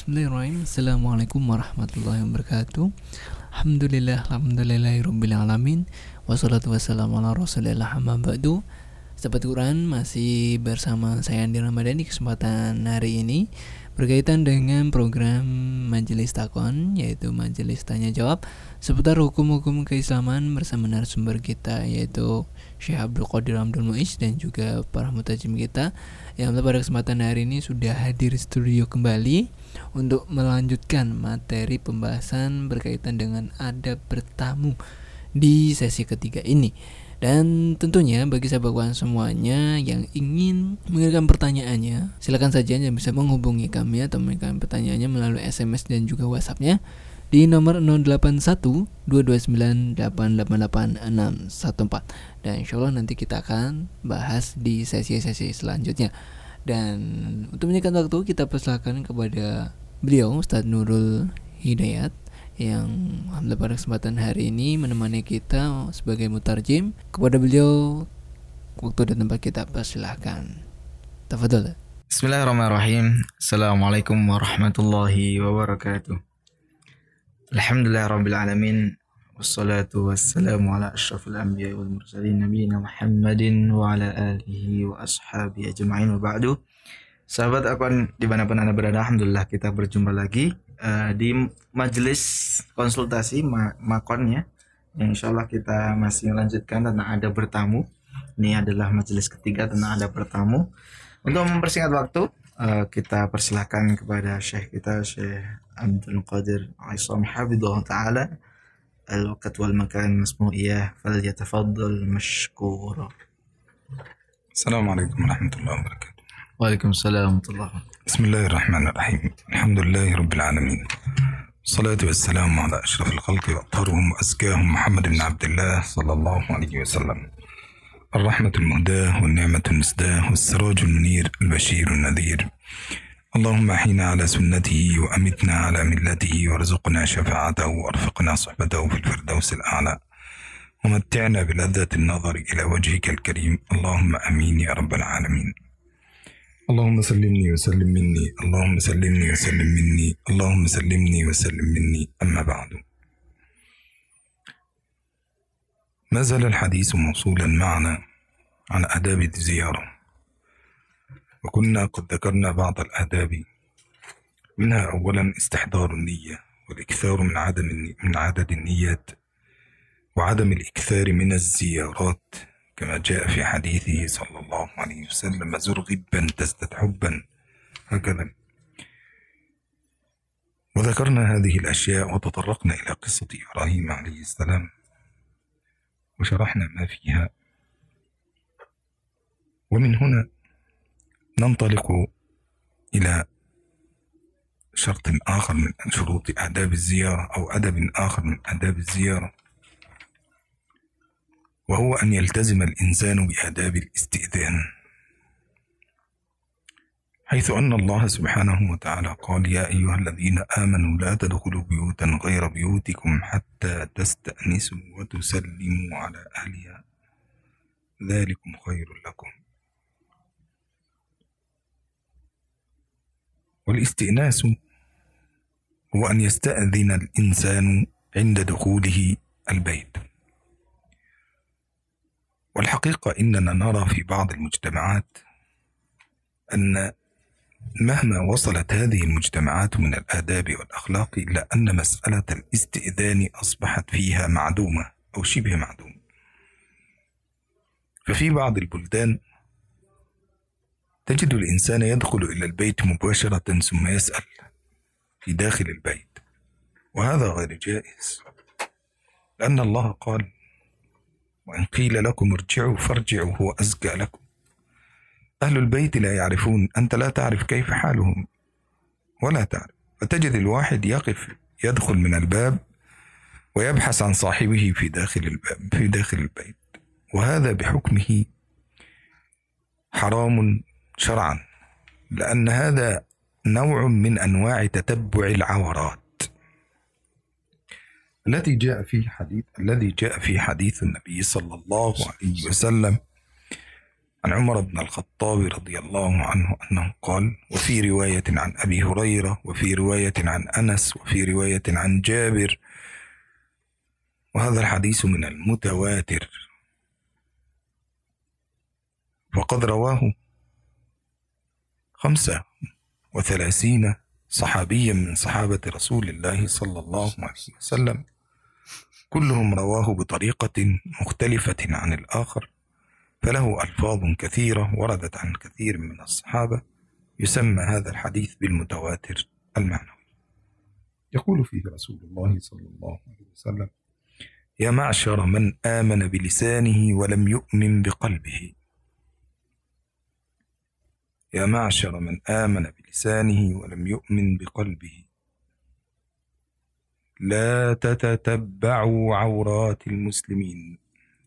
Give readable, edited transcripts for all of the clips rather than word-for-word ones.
Bismillahirrahmanirrahim. Assalamualaikum warahmatullahi wabarakatuh. Alhamdulillahirrabbilalamin. Wassalatu wassalamu ala rasulillah amma ba'du. Sahabat Quran, masih bersama saya Andi Ramadan di kesempatan hari ini berkaitan dengan program Majelis Takon, yaitu Majelis Tanya Jawab seputar hukum-hukum keislaman bersama narasumber kita, yaitu Syekh Abdul Qadir Abdul Muiz dan juga para mutajim kita yang pada kesempatan hari ini sudah hadir di studio kembali untuk melanjutkan materi pembahasan berkaitan dengan adab bertamu di sesi ketiga ini. Dan tentunya bagi sahabat kawan semuanya yang ingin mengirimkan pertanyaannya, silakan saja yang bisa menghubungi kami atau mengirimkan pertanyaannya melalui SMS dan juga WhatsApp-nya di nomor 081229888614. Dan insyaallah nanti kita akan bahas di sesi-sesi selanjutnya. Dan untuk menyingkat waktu, kita persilakan kepada beliau Ustaz Nurul Hidayat yang alhamdulillah pada kesempatan hari ini menemani kita sebagai mutarjim. Kepada beliau waktu dan tempat kita persilakan. Tafadhol. Bismillahirrahmanirrahim. Assalamualaikum warahmatullahi wabarakatuh. Alhamdulillahirabbil alamin. Wassalatu wassalamu ala asyrafil anbiya'i wal mursalin nabiyina Muhammadin wa ala alihi wa ashabihi ajma'in wa ba'du. Sahabat Akwan dimanapun Anda berada, alhamdulillah kita berjumpa lagi di majelis konsultasi makonnya, yang insyaallah kita masih melanjutkan tentang adab bertamu. Ini adalah majelis ketiga tentang adab bertamu. Untuk mempersingkat waktu, kita persilakan kepada Syekh kita, Syekh Abdul Qadir Aisam Hafidhullah Ta'ala. Al-waqt wal makan masmu'iyah, falyatafaddal mashkura. Assalamualaikum warahmatullahi wabarakatuh. Waalaikumsalam warahmatullahi wabarakatuh. Bismillahirrahmanirrahim. Alhamdulillahi rabbil alamin. Salatu wassalamu ala asyrafil khalqi wa atharuhum wa azkahum Muhammad ibn Abdullah sallallahu alaihi wasallam. الرحمة المهداة والنعمة المسداة والسراج المنير البشير النذير. اللهم أحينا على سنته وأمتنا على ملته وارزقنا شفاعته وارفقنا صحبته في الفردوس الأعلى ومتعنا بلذة النظر إلى وجهك الكريم. اللهم أمين يا رب العالمين. اللهم سلمني وسلم مني، اللهم سلمني وسلم مني، اللهم سلمني وسلم مني. أما بعد، ما زال الحديث موصولا معنا عن آداب الزيارة، وكنا قد ذكرنا بعض الآداب، منها أولا استحضار النية والإكثار من عدد النيات وعدم الإكثار من الزيارات، كما جاء في حديثه صلى الله عليه وسلم: زر غبا تزدد حبا، هكذا. وذكرنا هذه الأشياء وتطرقنا إلى قصة إبراهيم عليه السلام وشرحنا ما فيها. ومن هنا ننطلق إلى شرط آخر من شروط آداب الزيارة، أو أدب آخر من آداب الزيارة، وهو أن يلتزم الإنسان بآداب الاستئذان، حيث أن الله سبحانه وتعالى قال: يا أيها الذين آمنوا لا تدخلوا بيوتا غير بيوتكم حتى تستأنسوا وتسلموا على أهلها ذلكم خير لكم. والاستئناس هو أن يستأذن الإنسان عند دخوله البيت. والحقيقة إننا نرى في بعض المجتمعات أن مهما وصلت هذه المجتمعات من الآداب والأخلاق، إلا أن مسألة الاستئذان أصبحت فيها معدومة أو شبه معدومة. ففي بعض البلدان تجد الإنسان يدخل إلى البيت مباشرة ثم يسأل في داخل البيت، وهذا غير جائز، لأن الله قال: وإن قيل لكم ارجعوا فارجعوا هو أزكى لكم. أهل البيت لا يعرفون، أنت لا تعرف كيف حالهم ولا تعرف، فتجد الواحد يقف يدخل من الباب ويبحث عن صاحبه في داخل البيت، وهذا بحكمه حرام شرعا، لأن هذا نوع من أنواع تتبع العورات الذي جاء في حديث النبي صلى الله عليه وسلم عن عمر بن الخطاب رضي الله عنه أنه قال: وفي رواية عن أبي هريرة، وفي رواية عن أنس، وفي رواية عن جابر. وهذا الحديث من المتواتر، وقد رواه 35 صحابيا من صحابة رسول الله صلى الله عليه وسلم، كلهم رواه بطريقة مختلفة عن الآخر، فله ألفاظ كثيرة وردت عن كثير من الصحابة. يسمى هذا الحديث بالمتواتر المعنوي. يقول فيه رسول الله صلى الله عليه وسلم: يا معشر من آمن بلسانه ولم يؤمن بقلبه، يا معشر من آمن بلسانه ولم يؤمن بقلبه، لا تتتبعوا عورات المسلمين،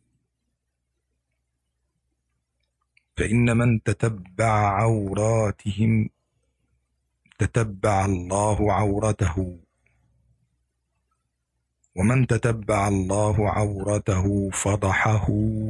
فإن من تتبع عوراتهم تتبع الله عورته، ومن تتبع الله عورته فضحه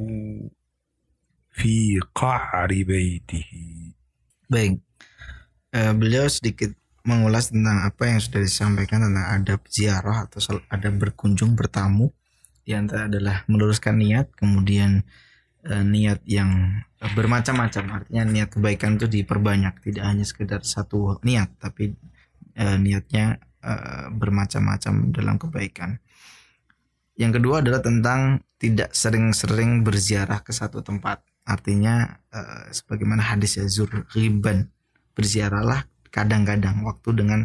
في قعر بيته. Baik, beliau sedikit mengulas tentang apa yang sudah disampaikan tentang adab ziarah atau adab berkunjung bertamu. Di antara adalah meluruskan niat, kemudian niat yang bermacam-macam, artinya niat kebaikan itu diperbanyak, tidak hanya sekedar satu niat, tapi niatnya bermacam-macam dalam kebaikan. Yang kedua adalah tentang tidak sering-sering berziarah ke satu tempat. Artinya sebagaimana hadis ya, zur ghiban, berziarahlah kadang-kadang, waktu dengan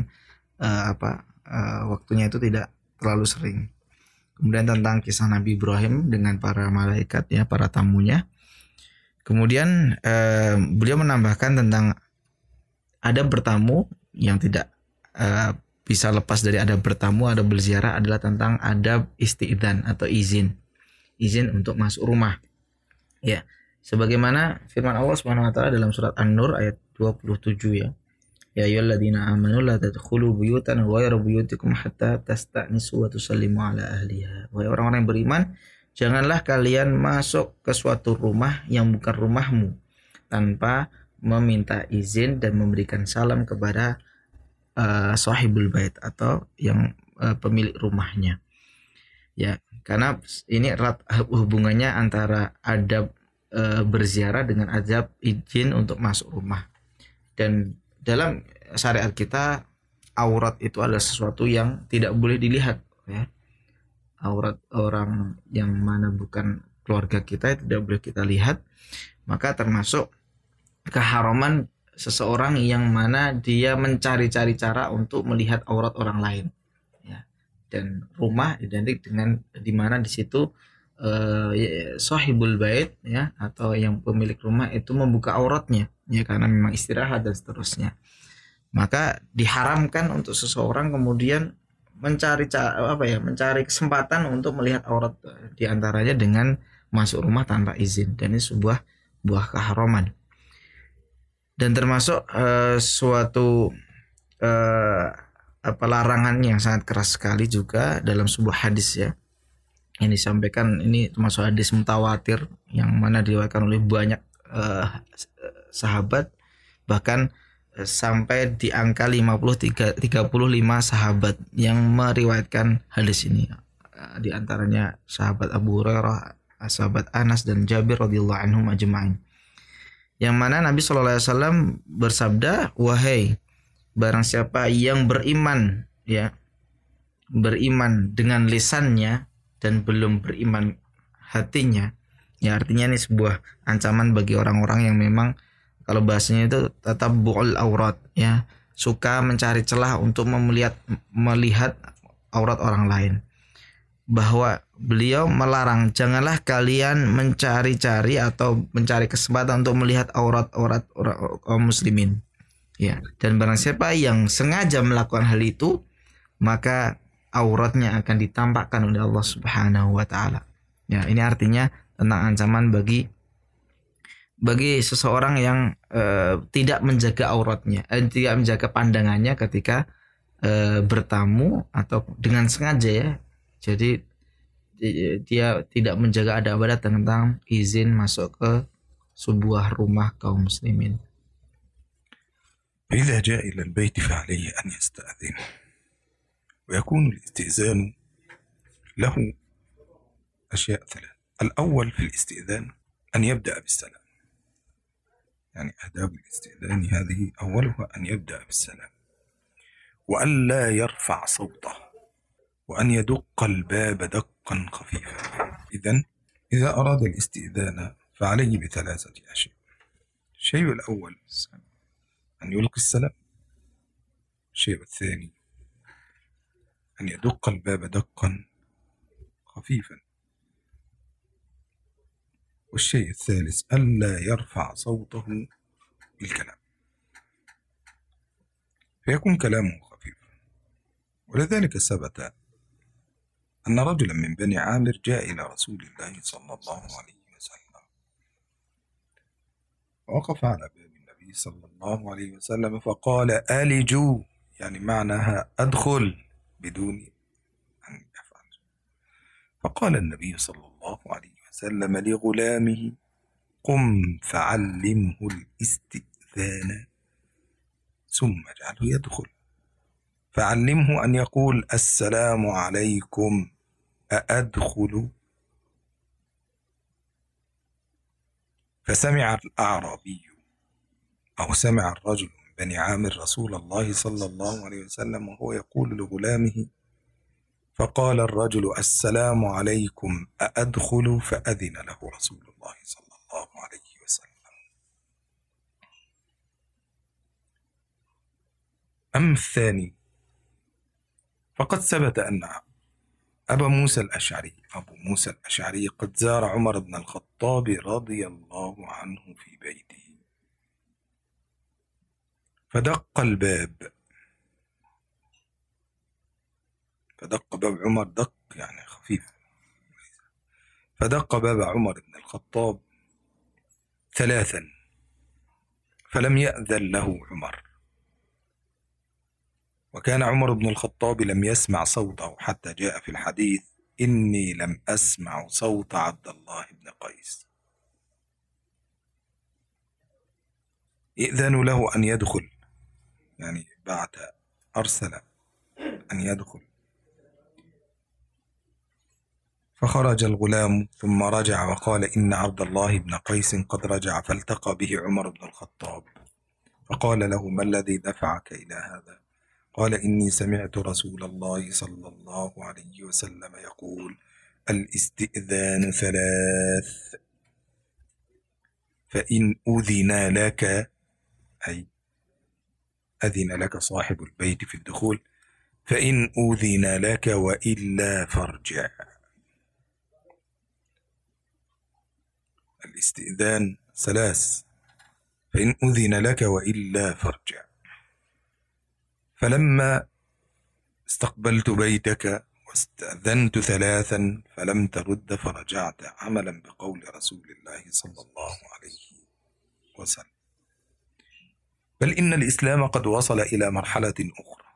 waktunya itu tidak terlalu sering. Kemudian tentang kisah Nabi Ibrahim dengan para malaikat ya, para tamunya. Kemudian beliau menambahkan tentang adab bertamu yang tidak bisa lepas dari adab bertamu, adab berziarah adalah tentang adab isti'dzan atau izin untuk masuk rumah. Ya, sebagaimana firman Allah Subhanahu wa taala dalam surat An-Nur ayat 27 ya. Ya ayyuhalladzina amanu la tadkhulu buyutan ghayra buyutikum hatta tasta'nisu wa tusallimu ala ahliha. Wahai orang-orang yang beriman, janganlah kalian masuk ke suatu rumah yang bukan rumahmu tanpa meminta izin dan memberikan salam kepada sahibul bait atau yang pemilik rumahnya. Ya, karena ini erat hubungannya antara adab berziarah dengan adab izin untuk masuk rumah. Dan dalam syariat kita, aurat itu adalah sesuatu yang tidak boleh dilihat ya. Aurat orang yang mana bukan keluarga kita tidak boleh kita lihat. Maka termasuk keharaman seseorang yang mana dia mencari-cari cara untuk melihat aurat orang lain ya. Dan rumah identik dengan di mana di situ sahibul bait ya, atau yang pemilik rumah itu membuka auratnya ya, karena memang istirahat dan seterusnya. Maka diharamkan untuk seseorang kemudian mencari kesempatan untuk melihat aurat, diantaranya dengan masuk rumah tanpa izin, dan ini sebuah keharaman. Dan termasuk suatu larangan yang sangat keras sekali juga dalam sebuah hadis ya, yang disampaikan. Ini termasuk hadis mutawatir yang mana diriwayatkan oleh banyak sahabat, bahkan sampai di angka 35 sahabat yang meriwayatkan hadis ini. Di antaranya sahabat Abu Hurairah, sahabat Anas dan Jabir radhiyallahu anhum ajma'in. Yang mana Nabi sallallahu alaihi wasallam bersabda, wahai barang siapa yang beriman ya, beriman dengan lisannya dan belum beriman hatinya, ya artinya ini sebuah ancaman bagi orang-orang yang memang kalau bahasanya itu tatabbu'ul aurat ya, suka mencari celah untuk melihat aurat orang lain. Bahwa beliau melarang, janganlah kalian mencari-cari atau mencari kesempatan untuk melihat aurat-aurat kaum muslimin. Ya, dan barang siapa yang sengaja melakukan hal itu, maka auratnya akan ditampakkan oleh Allah Subhanahu wa taala. Ya, ini artinya tentang ancaman bagi seseorang yang tidak menjaga auratnya, tidak menjaga pandangannya ketika bertamu atau dengan sengaja ya. Jadi dia tidak menjaga adab-adab tentang izin masuk ke sebuah rumah kaum muslimin. فإذا جاء إلى البيت فعليه أن يستأذن، ويكون الاستئذان له أشياء ثلاث. الأول في الاستئذان أن يبدأ بالسلام، يعني آداب الاستئذان هذه أولها أن يبدأ بالسلام، وأن لا يرفع صوته، وأن يدق الباب دقا خفيفا. إذا أراد الاستئذان فعليه بثلاثة أشياء. الشيء الأول أن يلقي السلام، الشيء الثاني أن يدق الباب دقا خفيفا، والشيء الثالث ألا يرفع صوته بالكلام، فيكون كلامه خفيف. ولذلك ثبت أن رجلا من بني عامر جاء إلى رسول الله صلى الله عليه وسلم، ووقف على باب النبي صلى الله عليه وسلم فقال: آلجوا، يعني معناها أدخل بدون أن يفعل. فقال النبي صلى الله عليه وسلم لغلامه: قم فعلمه الاستئذان ثم اجعله يدخل، فعلمه أن يقول: السلام عليكم، أأدخل؟ فسمع الأعرابي أو سمع الرجل من بني عامر رسول الله صلى الله عليه وسلم وهو يقول لغلامه، فقال الرجل: السلام عليكم، أأدخل؟ فأذن له رسول الله صلى الله عليه وسلم. أما الثاني فقد ثبت أن أبو موسى الأشعري قد زار عمر بن الخطاب رضي الله عنه في بيته، فدق باب عمر، دق يعني خفيف، فدق باب عمر بن الخطاب 3 فلم يأذن له عمر، وكان عمر بن الخطاب لم يسمع صوته، حتى جاء في الحديث: إني لم أسمع صوت عبد الله بن قيس. يأذن له أن يدخل، يعني أرسل أن يدخل، فخرج الغلام ثم رجع وقال: إن عبد الله بن قيس قد رجع، فالتقى به عمر بن الخطاب فقال له: ما الذي دفعك إلى هذا؟ قال: إني سمعت رسول الله صلى الله عليه وسلم يقول: الاستئذان 3، فإن أذن لك، أي أذن لك صاحب البيت في الدخول، فإن أذن لك وإلا فارجع. الاستئذان 3، فإن أذن لك وإلا فارجع. فلما استقبلت بيتك واستأذنت 3 فلم ترد فرجعت، عملا بقول رسول الله صلى الله عليه وسلم. بل إن الإسلام قد وصل إلى مرحلة أخرى،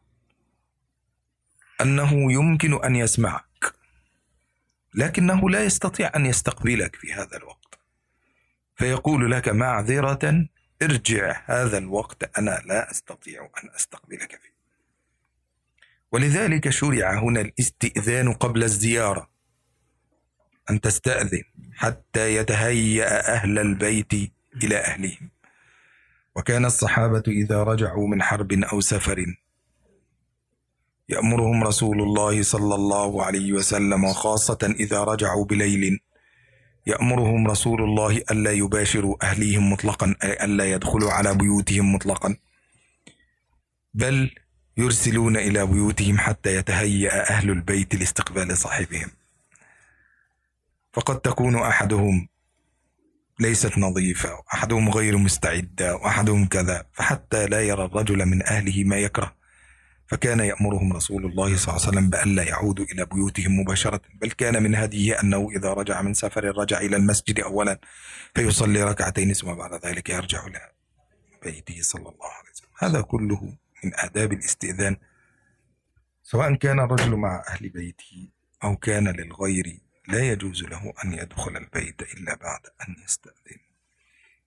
أنه يمكن أن يسمعك لكنه لا يستطيع أن يستقبلك في هذا الوقت، فيقول لك: معذرة، ارجع هذا الوقت أنا لا أستطيع أن أستقبلك فيه. ولذلك شرع هنا الاستئذان قبل الزيارة، أن تستأذن حتى يتهيأ أهل البيت إلى أهلهم. وكان الصحابة إذا رجعوا من حرب أو سفر يأمرهم رسول الله صلى الله عليه وسلم، وخاصة إذا رجعوا بليل يأمرهم رسول الله ألا يباشروا أهليهم مطلقا، أي ألا يدخلوا على بيوتهم مطلقا، بل يرسلون إلى بيوتهم حتى يتهيأ أهل البيت لاستقبال صاحبهم. فقد تكون أحدهم ليست نظيفة، وأحدهم غير مستعدة، وأحدهم كذا، فحتى لا يرى الرجل من أهله ما يكره، فكان يأمرهم رسول الله صلى الله عليه وسلم بألا يعودوا إلى بيوتهم مباشرة، بل كان من هديه أنه إذا رجع من سفر رجع إلى المسجد أولا فيصلي 2 ثم بعد ذلك يرجع إلى بيته صلى الله عليه وسلم. هذا كله من آداب الاستئذان، سواء كان الرجل مع أهل بيته أو كان للغير، لا يجوز له أن يدخل البيت إلا بعد أن يستأذن.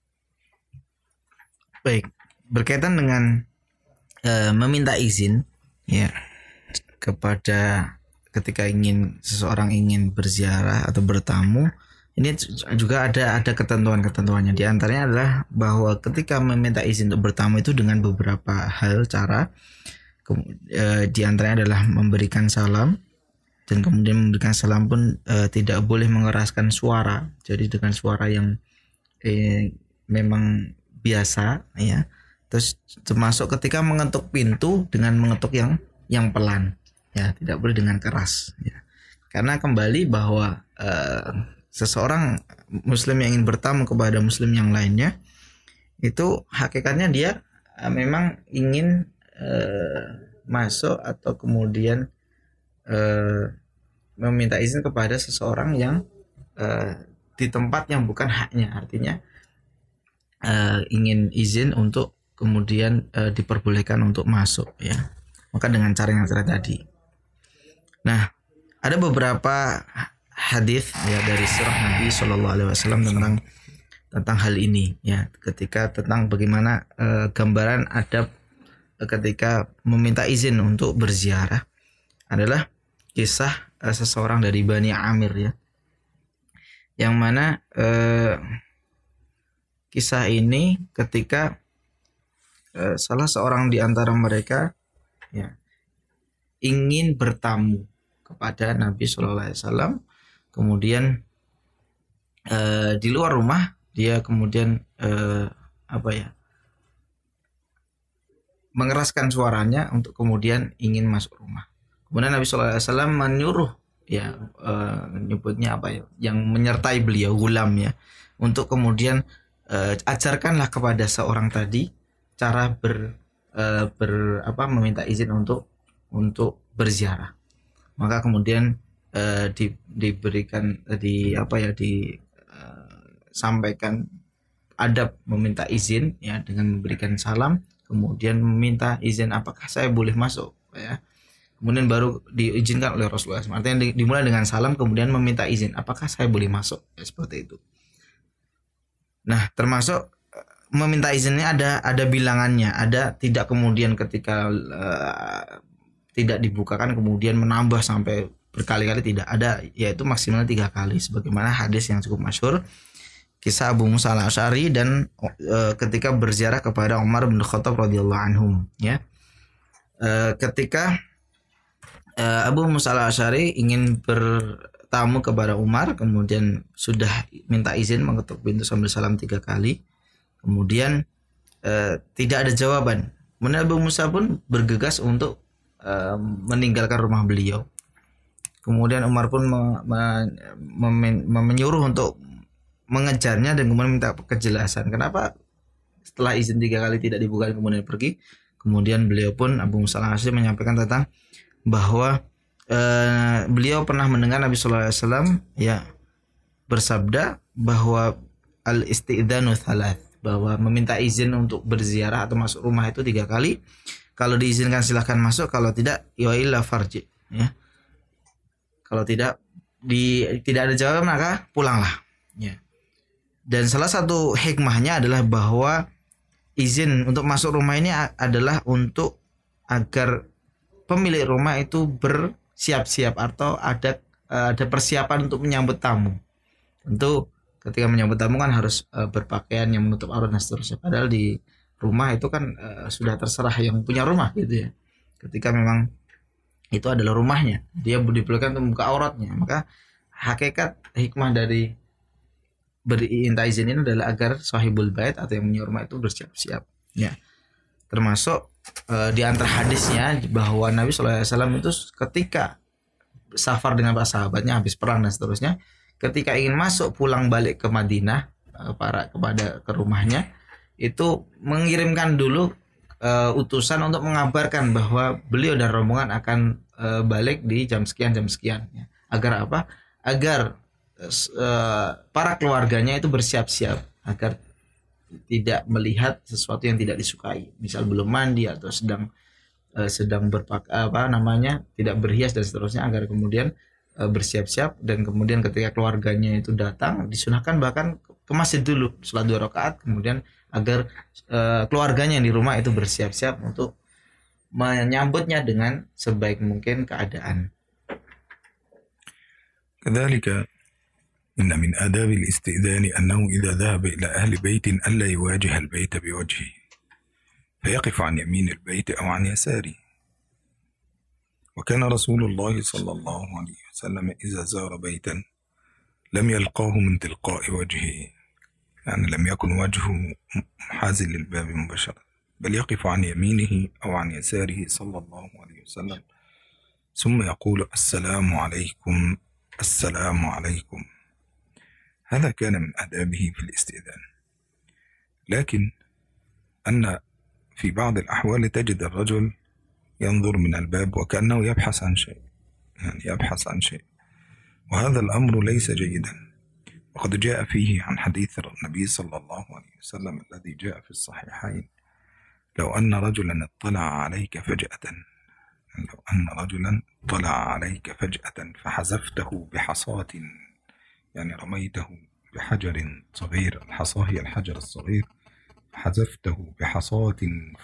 Baik, berkaitan dengan meminta izin ya kepada ketika seseorang ingin berziarah atau bertamu, ini juga ada ketentuan-ketentuannya. Di antaranya adalah bahwa ketika meminta izin untuk bertamu itu dengan beberapa hal cara. Di antaranya adalah memberikan salam, dan kemudian memberikan salam pun tidak boleh mengeraskan suara. Jadi dengan suara yang memang biasa ya. Terus termasuk ketika mengetuk pintu dengan mengetuk yang pelan ya, tidak boleh dengan keras ya. Karena kembali bahwa seseorang muslim yang ingin bertamu kepada muslim yang lainnya itu hakikatnya dia memang ingin masuk atau kemudian meminta izin kepada seseorang yang di tempat yang bukan haknya. Artinya ingin izin untuk kemudian diperbolehkan untuk masuk ya. Maka dengan cara yang tadi. Nah, ada beberapa hadis ya dari sirah Nabi SAW tentang hal ini ya, ketika tentang bagaimana gambaran adab ketika meminta izin untuk berziarah adalah kisah seseorang dari Bani Amir ya, yang mana kisah ini ketika salah seorang di antara mereka ya ingin bertamu kepada Nabi SAW, kemudian di luar rumah dia kemudian mengeraskan suaranya untuk kemudian ingin masuk rumah. Kemudian Nabi SAW menyuruh ya nyebutnya yang menyertai beliau, gulam ya, untuk kemudian ajarkanlah kepada seorang tadi cara meminta izin untuk berziarah. Maka kemudian diberikan disampaikan adab meminta izin ya, dengan memberikan salam, kemudian meminta izin apakah saya boleh masuk ya. Kemudian baru diizinkan oleh Rasulullah SAW. Artinya dimulai dengan salam, kemudian meminta izin apakah saya boleh masuk ya, seperti itu. Nah, termasuk meminta izinnya ada bilangannya, ada tidak kemudian ketika tidak dibukakan kemudian menambah sampai berkali-kali, tidak ada, yaitu maksimal 3 kali sebagaimana hadis yang cukup masyhur kisah Abu Musa al-Asy'ari dan ketika berziarah kepada Umar bin Khattab radhiyallahu anhum ya. Ketika Abu Musa al-Asy'ari ingin bertamu kepada Umar, kemudian sudah minta izin mengetuk pintu sambil salam 3 kali, kemudian tidak ada jawaban. Kemudian Abu Musa pun bergegas untuk meninggalkan rumah beliau. Kemudian Umar pun menyuruh untuk mengejarnya dan kemudian minta kejelasan kenapa setelah izin 3 kali tidak dibuka kemudian pergi. Kemudian beliau pun, Abu Musa al-Asy'ari, menyampaikan tentang bahwa beliau pernah mendengar Nabi SAW ya bersabda bahwa al-isti'dzanu thalath, bahwa meminta izin untuk berziarah atau masuk rumah itu 3 kali. Kalau diizinkan silahkan masuk, kalau tidak ya illa farji ya. Kalau tidak ada jawaban maka pulanglah ya. Dan salah satu hikmahnya adalah bahwa izin untuk masuk rumah ini adalah untuk agar pemilik rumah itu bersiap-siap atau ada persiapan untuk menyambut tamu. Tentu ketika menyambut tamu kan harus berpakaian yang menutup aurat dan seterusnya. Padahal di rumah itu kan sudah terserah yang punya rumah gitu ya. Ketika memang itu adalah rumahnya, dia diperlukan untuk membuka auratnya. Maka hakikat hikmah dari minta izin ini adalah agar sahibul bait atau yang punya rumah itu bersiap-siap ya. Termasuk di antara hadisnya bahwa Nabi SAW itu ketika safar dengan para sahabatnya habis perang dan seterusnya, ketika ingin masuk pulang balik ke Madinah ke rumahnya, itu mengirimkan dulu utusan untuk mengabarkan bahwa beliau dan rombongan akan balik di jam sekian ya. Agar apa? Agar para keluarganya itu bersiap-siap agar tidak melihat sesuatu yang tidak disukai, misal belum mandi atau sedang tidak berhias dan seterusnya, agar kemudian bersiap-siap dan kemudian ketika keluarganya itu datang disunahkan bahkan ke masjid dulu sholat 2 rakaat, kemudian agar keluarganya yang di rumah itu bersiap-siap untuk menyambutnya dengan sebaik mungkin keadaan. كذلك إن من آداب الاستئذان أنه إذا ذهب إلى أهل بيت ألا يواجه البيت بوجهه فيقف عن يمين البيت أو عن يساره. وكان رسول الله صلى الله عليه وسلم إذا زار بيتا لم يلقاه من تلقاء وجهه، يعني لم يكن وجهه محاذ للباب مباشرة، بل يقف عن يمينه أو عن يساره صلى الله عليه وسلم ثم يقول السلام عليكم السلام عليكم. هذا كان من آدابه في الاستئذان. لكن أن في بعض الأحوال تجد الرجل ينظر من الباب وكأنه يبحث عن شيء، يعني يبحث عن شيء، وهذا الأمر ليس جيدا. وقد جاء فيه عن حديث النبي صلى الله عليه وسلم الذي جاء في الصحيحين: لو أن رجلا اطلع عليك فجأة، لو أن رجلا طلع عليك فجأة فحذفته بحصاة، يعني رميته بحجر صغير، الحصاة هي الحجر الصغير، حذفته بحصاة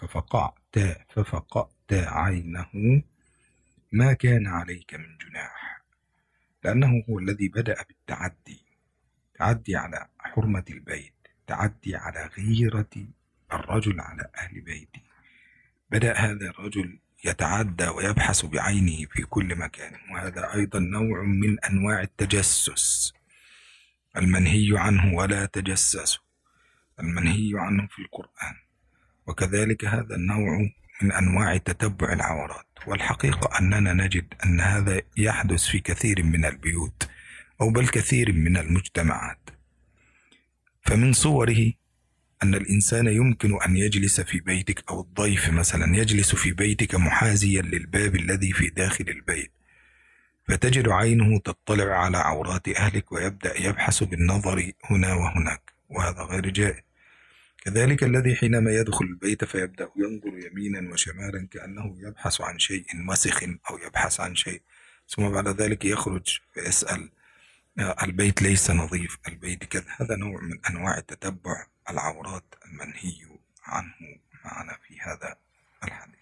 ففقأت عينه ما كان عليك من جناح، لأنه هو الذي بدأ بالتعدي، تعدي على حرمة البيت، تعدي على غيرة الرجل على أهل بيته. بدأ هذا الرجل يتعدى ويبحث بعينه في كل مكان، وهذا أيضا نوع من أنواع التجسس المنهي عنه، ولا تجسسوا، المنهي عنه في القرآن. وكذلك هذا النوع من أنواع تتبع العورات. والحقيقة أننا نجد أن هذا يحدث في كثير من البيوت أو بل كثير من المجتمعات. فمن صوره أن الإنسان يمكن أن يجلس في بيتك، أو الضيف مثلا يجلس في بيتك محاذيا للباب الذي في داخل البيت، فتجد عينه تطلع على عورات أهلك ويبدأ يبحث بالنظر هنا وهناك، وهذا غير جائز. كذلك الذي حينما يدخل البيت فيبدأ ينظر يمينا وشمالا كأنه يبحث عن شيء وسخ أو يبحث عن شيء، ثم بعد ذلك يخرج فيسأل البيت ليس نظيف، البيت كذا. هذا نوع من أنواع تتبع العورات المنهي عنه معنا في هذا الحديث.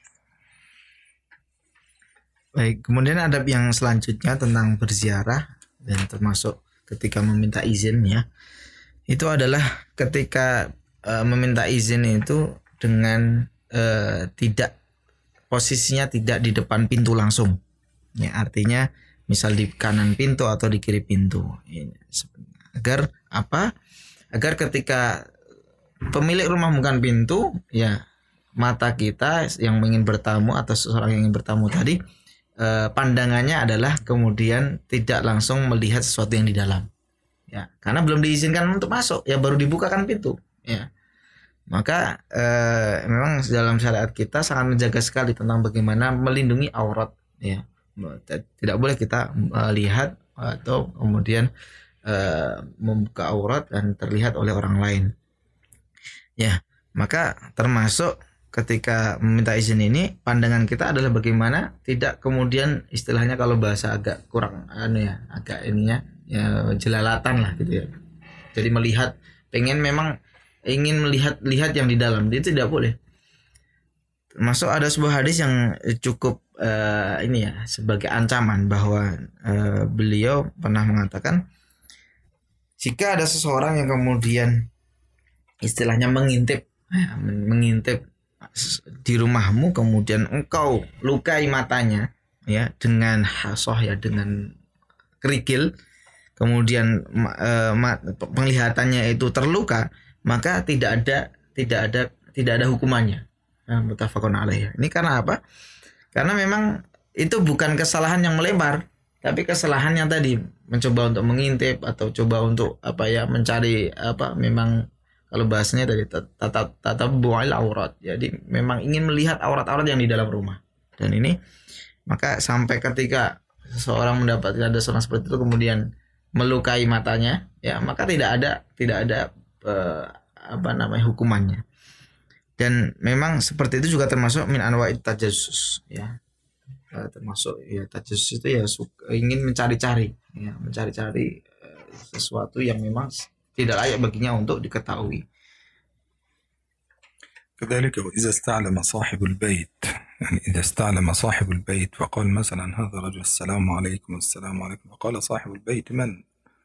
Baik, kemudian adab yang selanjutnya tentang berziarah dan termasuk ketika meminta izin ya. Itu adalah ketika meminta izin itu dengan tidak posisinya tidak di depan pintu langsung. Ya, artinya misal di kanan pintu atau di kiri pintu. Agar apa? Agar ketika pemilik rumah bukan pintu, ya mata kita yang ingin bertamu atau seseorang yang ingin bertamu tadi, pandangannya adalah kemudian tidak langsung melihat sesuatu yang di dalam. Ya, karena belum diizinkan untuk masuk, ya baru dibukakan pintu. Ya, maka memang dalam syariat kita sangat menjaga sekali tentang bagaimana melindungi aurat. Ya, tidak boleh kita lihat atau kemudian membuka aurat dan terlihat oleh orang lain. Ya, maka termasuk ketika meminta izin ini pandangan kita adalah bagaimana tidak kemudian istilahnya kalau bahasa agak kurang agak ininya ya jelalatan lah gitu ya. Jadi ingin melihat yang di dalam, itu tidak boleh. Termasuk ada sebuah hadis yang cukup sebagai ancaman bahwa beliau pernah mengatakan, jika ada seseorang yang kemudian istilahnya mengintip di rumahmu, kemudian engkau lukai matanya ya dengan hasoh, ya dengan kerikil, kemudian penglihatannya itu terluka, maka tidak ada hukumannya. Muttafaqun alaih. Ini karena apa? Karena memang itu bukan kesalahan yang melebar, tapi kesalahan yang tadi mencoba untuk mengintip atau coba untuk mencari memang kalau bahasanya tadi tatabbu'il aurat. Jadi memang ingin melihat aurat-aurat yang di dalam rumah. Dan ini maka sampai ketika seseorang mendapatkan ada seorang seperti itu kemudian melukai matanya, ya maka tidak ada hukumannya. Dan memang seperti itu juga termasuk min anwa'it tajassus ya. Termasuk ya tajassus itu ya ingin mencari-cari sesuatu yang memang tidak layak baginya untuk diketahui. كذلك وإذا استعلم صاحب البيت، يعني إذا استعلم صاحب البيت فقال مثلا هذا رجل السلام عليكم السلام عليكم، فقال صاحب البيت من؟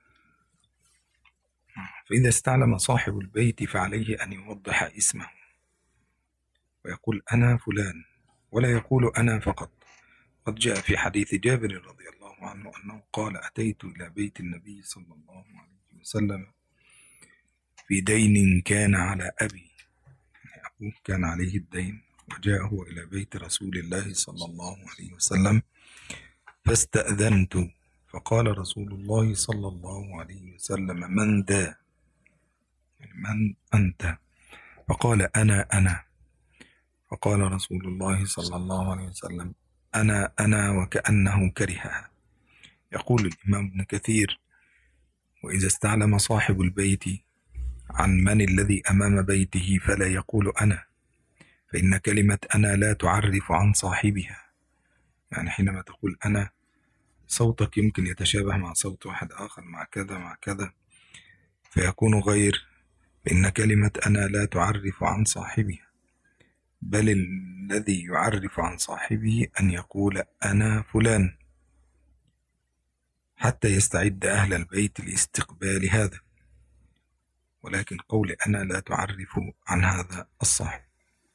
فإذا استعلم صاحب البيت فعليه أن يوضح اسمه ويقول أنا فلان، ولا يقول أنا فقط. قد جاء في حديث جابر رضي الله عنه أنه قال أتيت إلى بيت النبي صلى الله عليه وسلم في دين كان على أبي، يعني أبوه كان عليه الدين، وجاء هو إلى بيت رسول الله صلى الله عليه وسلم فاستأذنت، فقال رسول الله صلى الله عليه وسلم من ذا؟ يعني من أنت؟ فقال أنا. فقال رسول الله صلى الله عليه وسلم أنا وكأنه كرهها. يقول الإمام ابن كثير وإذا استعلم صاحب البيت عن من الذي أمام بيته فلا يقول أنا، فإن كلمة أنا لا تعرف عن صاحبها، يعني حينما تقول أنا صوتك يمكن يتشابه مع صوت واحد آخر مع كذا مع كذا فيكون غير، فإن كلمة أنا لا تعرف عن صاحبها، بل الذي يعرف عن صاحبه أن يقول أنا فلان حتى يستعد أهل البيت لاستقبال هذا، ولكن قول أنا لا تعرف عن هذا الصاحب.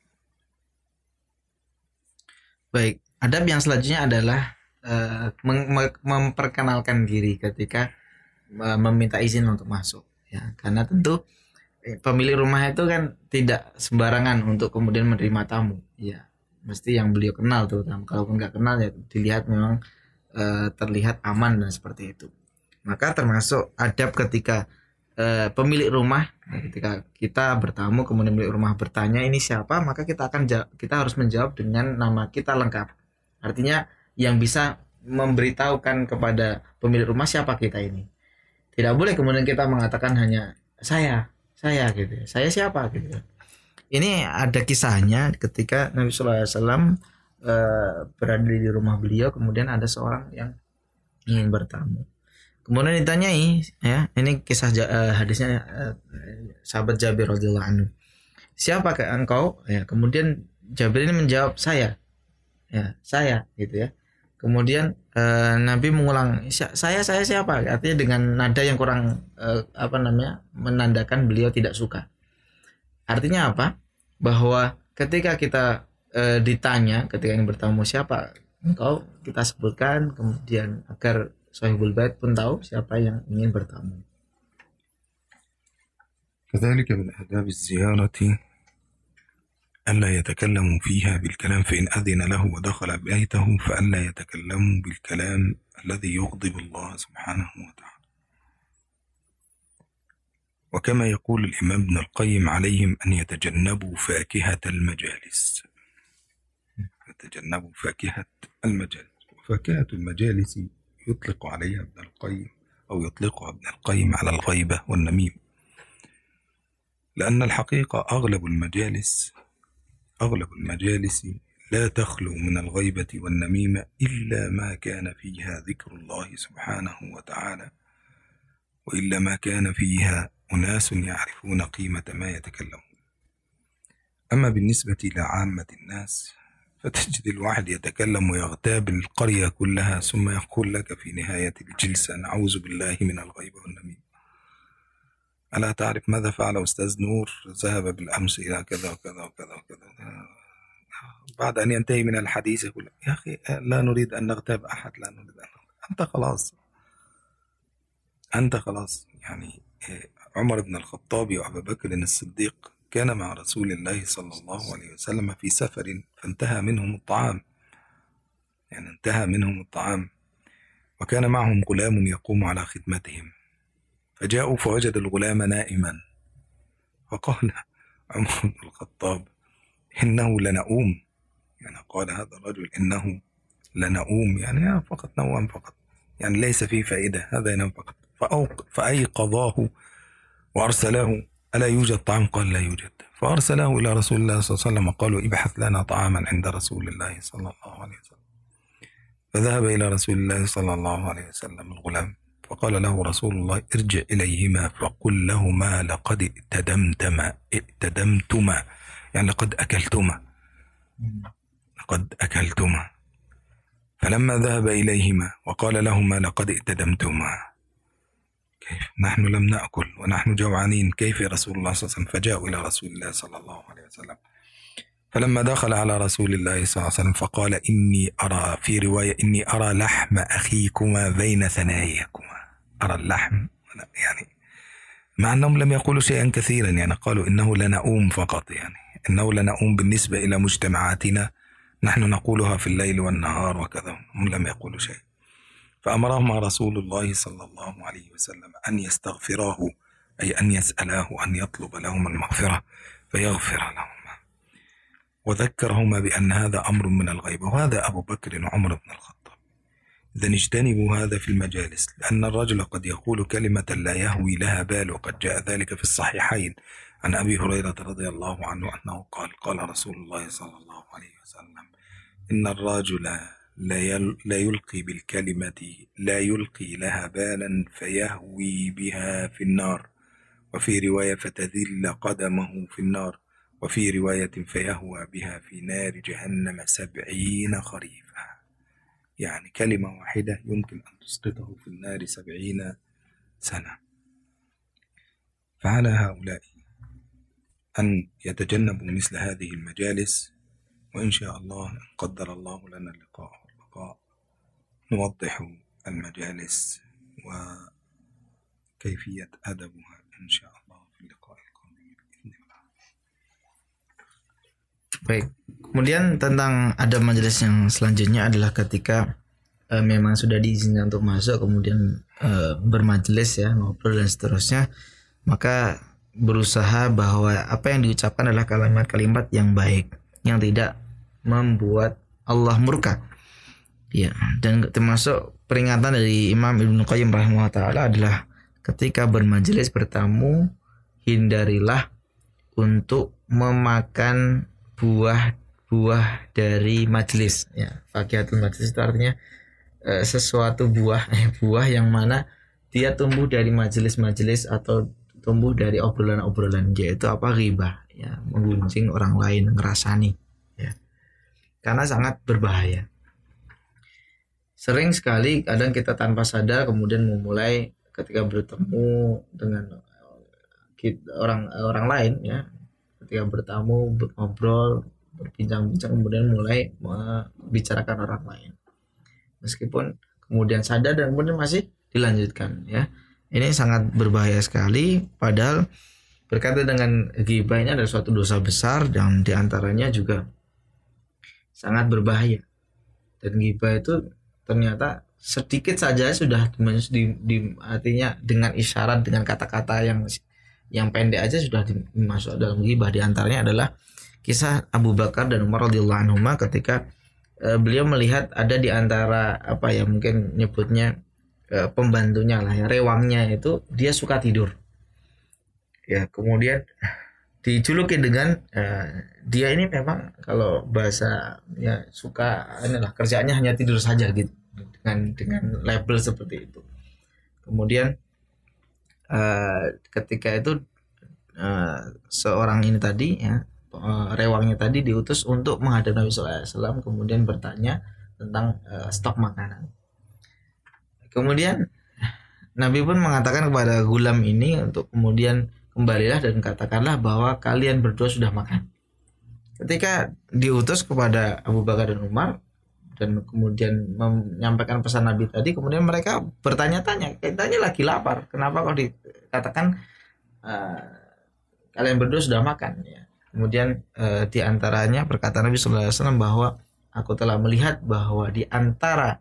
Baik, adab yang selanjutnya adalah memperkenalkan diri ketika meminta izin untuk masuk, ya, karena tentu pemilik rumah itu kan tidak sembarangan untuk kemudian menerima tamu, ya, mesti yang beliau kenal terutama. Kalaupun nggak kenal ya dilihat memang terlihat aman dan seperti itu. Maka termasuk adab ketika pemilik rumah, ketika kita bertamu kemudian pemilik rumah bertanya ini siapa, maka kita harus menjawab dengan nama kita lengkap. Artinya yang bisa memberitahukan kepada pemilik rumah siapa kita ini. Tidak boleh kemudian kita mengatakan hanya saya gitu, saya siapa gitu. Ini ada kisahnya ketika Nabi Sallallahu Alaihi Wasallam berada di rumah beliau, kemudian ada seorang yang ingin bertamu. Kemudian ditanyai, ya, ini kisah hadisnya sahabat Jabir radhiyallahu anhu. Siapakah engkau? Ya, kemudian Jabir ini menjawab saya. Ya, saya gitu ya. Kemudian Nabi mengulang, saya siapa? Artinya dengan nada yang kurang menandakan beliau tidak suka. Artinya apa? Bahwa ketika kita ditanya, ketika ingin bertamu siapa engkau, kita sebutkan, kemudian agar sahibul bait pun tahu siapa yang ingin bertamu. كذلك من آداب الزيارة ألا يتكلموا فيها بالكلام، فإن أذن له ودخل بيته فألا يتكلموا بالكلام الذي يغضب الله سبحانه وتعالى. وكما يقول الإمام ابن القيم عليهم أن يتجنبوا فاكهة المجالس. يتجنبوا فاكهة المجالس، وفاكهة المجالس يطلق عليها ابن القيم أو يطلقها ابن القيم على الغيبة والنميم، لأن الحقيقة أغلب المجالس لا تخلو من الغيبة والنميمة إلا ما كان فيها ذكر الله سبحانه وتعالى، وإلا ما كان فيها أناس يعرفون قيمة ما يتكلمون. أما بالنسبة لعامة الناس فتجد الواحد يتكلم ويغتاب القرية كلها ثم يقول لك في نهاية الجلسة نعوذ بالله من الغيبة والنميمة. ألا تعرف ماذا فعل أستاذ نور؟ ذهب بالأمس إلى كذا وكذا وكذا وكذا. بعد أن ينتهي من الحديث يقول يا أخي لا نريد أن نغتاب أحد، لا نريد أن نغتاب. أنت خلاص يعني عمر بن الخطاب وأبا بكر الصديق كان مع رسول الله صلى الله عليه وسلم في سفر فانتهى منهم الطعام، وكان معهم غلام يقوم على خدمتهم، فجاءوا فوجد الغلام نائما، فقال عمر بن الخطاب إنه لنؤوم، يعني قال هذا الرجل إنه لنؤوم، يعني فقط نوم فقط، يعني ليس فيه فائدة، هذا ينام فقط. فأيقظاه وأرسله ألا يوجد طعام؟ قال لا يوجد. فأرسله إلى رسول الله صلى الله عليه وسلم قالوا ابحث لنا طعاما عند رسول الله صلى الله عليه وسلم. فذهب إلى رسول الله صلى الله عليه وسلم الغلام، فقال له رسول الله ارجع إليهما فقل لهما لقد ائتدمتما، يعني لقد أكلتما فلما ذهب إليهما وقال لهما لقد ائتدمتما. كيف نحن لم نأكل ونحن جوعانين، كيف يا رسول الله صلى الله عليه وسلم؟ فجاءوا إلى رسول الله صلى الله عليه وسلم، فلما دخل على رسول الله صلى الله عليه وسلم فقال إني أرى، في رواية إني أرى لحم أخيكما بين ثناياكما، أرى اللحم يعني، مع أنهم لم يقولوا شيئا كثيرا، يعني قالوا إنه لنؤوم فقط، يعني إنه لنؤوم بالنسبة إلى مجتمعاتنا نحن نقولها في الليل والنهار وكذا، هم لم يقولوا شيء. فأمرهما رسول الله صلى الله عليه وسلم أن يستغفراه، أي أن يسألاه أن يطلب لهما المغفرة فيغفر لهما، وذكرهما بأن هذا أمر من الغيب، وهذا أبو بكر وعمر بن الخطاب. إذن اجتنبوا هذا في المجالس، لأن الرجل قد يقول كلمة لا يهوي لها بال، وقد جاء ذلك في الصحيحين عن أبي هريرة رضي الله عنه أنه قال رسول الله صلى الله عليه وسلم إن الرجل لا يلقي بالكلمة لا يلقي لها بالا فيهوي بها في النار، وفي رواية فتذل قدمه في النار، وفي رواية فيهوى بها في نار جهنم 70 خريفا. يعني كلمة واحدة يمكن أن تسقطه في النار 70 سنة. فعلى هؤلاء أن يتجنبوا مثل هذه المجالس، وإن شاء الله إن قدر الله لنا اللقاء والبقاء نوضح المجالس وكيفية أدبها إن شاء الله في اللقاء القادم بإذن الله. Baik, kemudian tentang adab majelis yang selanjutnya adalah ketika memang sudah diizinkan untuk masuk, kemudian bermajelis ya, ngobrol dan seterusnya, maka berusaha bahwa apa yang diucapkan adalah kalimat-kalimat yang baik, yang tidak membuat Allah murka. Ya, dan termasuk peringatan dari Imam Ibnu Qayyim rahimahullah taala adalah ketika bermajelis bertamu, hindarilah untuk memakan buah dari majelis. Ya, fakihatul majelis itu artinya sesuatu buah yang mana dia tumbuh dari majelis-majelis atau tumbuh dari obrolan-obrolan, yaitu apa? Ghibah, ya, menggunjing orang lain, ngerasani, ya. Karena sangat berbahaya. Sering sekali kadang kita tanpa sadar kemudian memulai ketika bertemu dengan orang lain, ya, ketika bertamu, ngobrol, berbincang-bincang, kemudian mulai membicarakan orang lain, meskipun kemudian sadar dan kemudian masih dilanjutkan, ya. Ini sangat berbahaya sekali, padahal berkaitan dengan ghibah ini adalah suatu dosa besar dan diantaranya juga sangat berbahaya. Dan ghibah itu ternyata sedikit saja sudah artinya dengan isyarat, dengan kata-kata yang pendek aja sudah dimasuk dalam ghibah. Di antaranya adalah kisah Abu Bakar dan Umar radhiyallahu anhuma ketika beliau melihat ada di antara mungkin nyebutnya pembantunya lah, ya, rewangnya itu dia suka tidur, ya, kemudian dijuluki dengan dia ini memang kalau bahasa ya suka inilah kerjaannya hanya tidur saja gitu, dengan label seperti itu. Kemudian ketika itu seorang ini tadi, ya, rewangnya tadi diutus untuk menghadap Nabi sallallahu alaihi wasallam, kemudian bertanya tentang stok makanan. Kemudian Nabi pun mengatakan kepada gulam ini untuk kemudian kembalilah dan katakanlah bahwa kalian berdua sudah makan. Ketika diutus kepada Abu Bakar dan Umar dan kemudian menyampaikan pesan Nabi tadi, kemudian mereka bertanya-tanya, katanya lagi lapar, kenapa kok dikatakan kalian berdua sudah makan, ya. Kemudian diantaranya perkataan Nabi sallallahu alaihi wasallam bahwa aku telah melihat bahwa di antara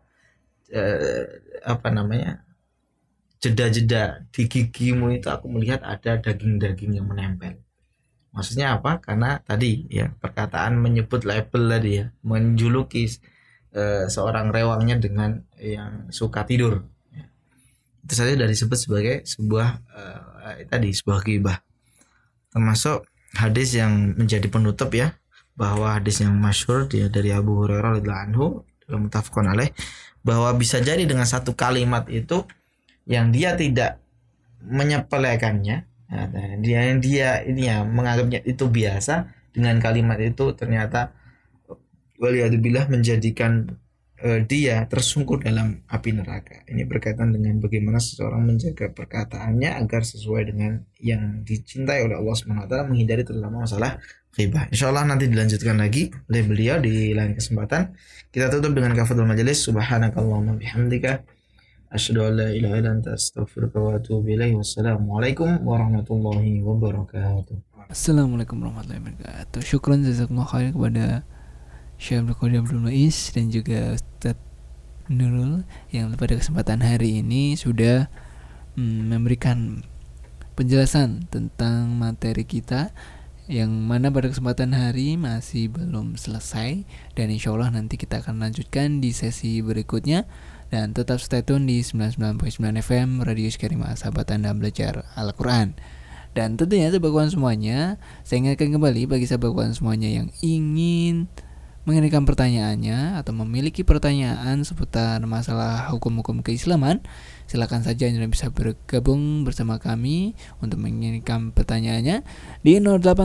jeda-jeda di gigimu itu aku melihat ada daging-daging yang menempel. Maksudnya apa? Karena tadi, ya, perkataan menyebut label tadi, ya, menjuluki seorang rewangnya dengan yang suka tidur, ya. Itu saja sudah disebut sebagai sebuah sebuah ghibah. Termasuk hadis yang menjadi penutup, ya, bahwa hadis yang masyhur dari Abu Hurairah radhiyallahu anhu dalam muttafaqun alaih, bahwa bisa jadi dengan satu kalimat itu yang dia tidak menyepelekannya, dia ini ya menganggapnya itu biasa, dengan kalimat itu ternyata waliyadzubillah menjadikan dia tersungkur dalam api neraka. Ini berkaitan dengan bagaimana seseorang menjaga perkataannya agar sesuai dengan yang dicintai oleh Allah SWT, menghindari terutama masalah ghibah. Insyaallah nanti dilanjutkan lagi oleh beliau di lain kesempatan. Kita tutup dengan kafatul majelis. Subhanakallahumma bihamdika asyhadu an la ilaha illa anta astaghfiruka wa atubu ilaik. Wassalamualaikum warahmatullahi wabarakatuh. Assalamualaikum warahmatullahi wabarakatuh. Syukran jazakumullah khair kepada Syekh Abdul Muiz dan juga Ustaz Nurul yang pada kesempatan hari ini sudah memberikan penjelasan tentang materi kita yang mana pada kesempatan hari masih belum selesai, dan insyaallah nanti kita akan lanjutkan di sesi berikutnya. Dan tetap stay tune di 99.9 FM Radio Karimah, sahabat Anda belajar Al-Quran. Dan tentunya sahabat kawan semuanya, saya ingatkan kembali bagi sahabat kawan semuanya yang ingin mengirimkan pertanyaannya atau memiliki pertanyaan seputar masalah hukum-hukum keislaman, silakan saja Anda bisa bergabung bersama kami untuk mengirimkan pertanyaannya di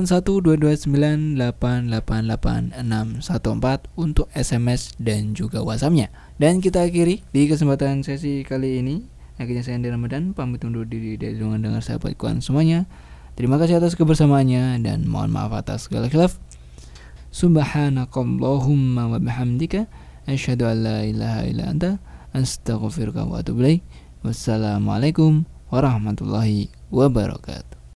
081229888614 untuk SMS dan juga WhatsApp-nya. Dan kita akhiri di kesempatan sesi kali ini. Akhirnya saya Andi Ramadan pamit undur diri dari ruangan dengar sahabat kawan semuanya. Terima kasih atas kebersamaannya dan mohon maaf atas segala khilaf. Subhanakallahumma wa bihamdika asyhadu an la ilaha illa anta astaghfiruka wa atubu ilaik. Wassalamualaikum warahmatullahi wabarakatuh.